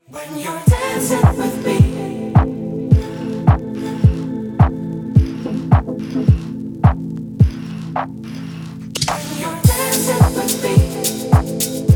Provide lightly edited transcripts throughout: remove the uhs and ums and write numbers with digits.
When you're dancing with me, when you're dancing with me,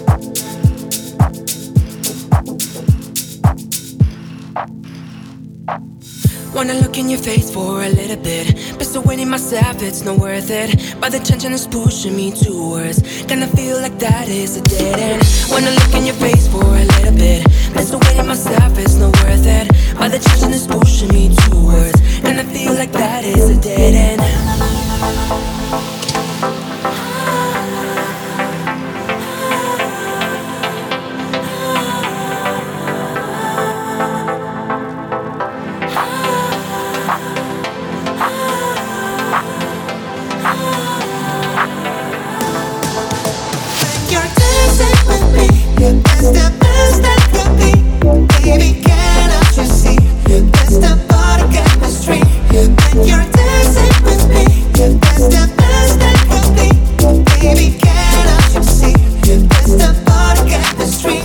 wanna look in your face for a little bit, persuading myself it's not worth it, but the tension is pushing me towards. Kinda feel like that is a dead end. Wanna look in your face for a little bit, persuading myself it's not worth it, but the tension is pushing me towards. Kinda feel like that is a dead end. You're dancing with me, that's the best that could be. Baby, cannot you see? That's the body chemistry. When you're dancing with me, that's the best that could be. Baby, cannot you see? That's the body chemistry.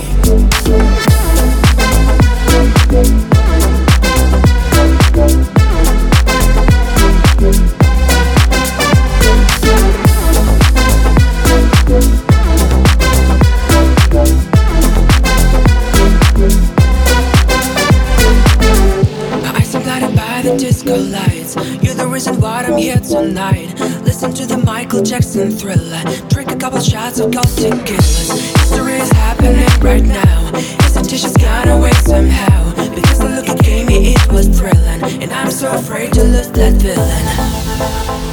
The disco lights, you're the reason why I'm here tonight. Listen to the Michael Jackson Thriller, drink a couple shots of gold tequilas. History is happening right now, hesitation's gone away somehow, because the look it gave me, it was thrilling, and I'm so afraid to lose that feeling.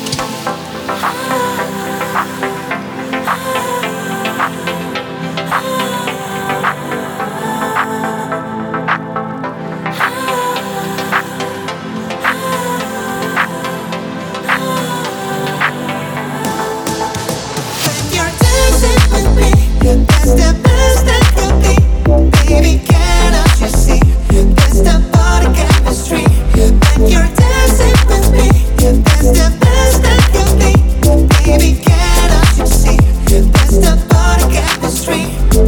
That's the best that could be. Baby, cannot you see? That's the body chemistry. When you're dancing with me, that's the best that could be. Baby, cannot you see? That's the body chemistry.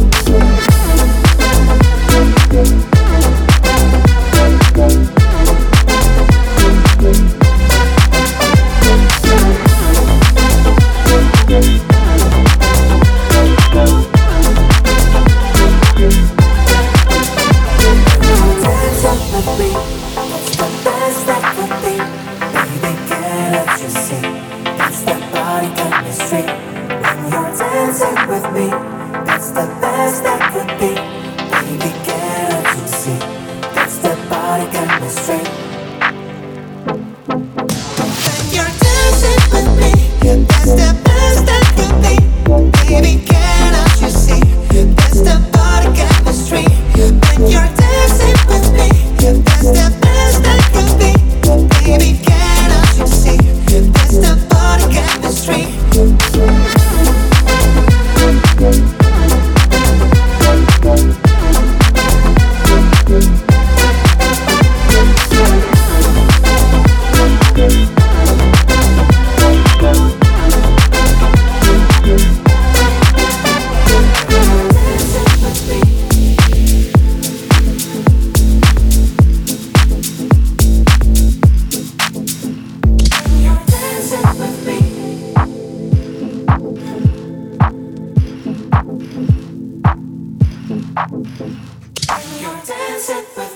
When you're dancing with me, that's the best that could be. Baby, can't you see? That's the body chemistry. When you're dancing with me, that's the best that could be. Baby, can't you see? That's the body chemistry. When you're dancing with me, that's the best that could be. Baby, can't you see? That's the body chemistry. You're dancing with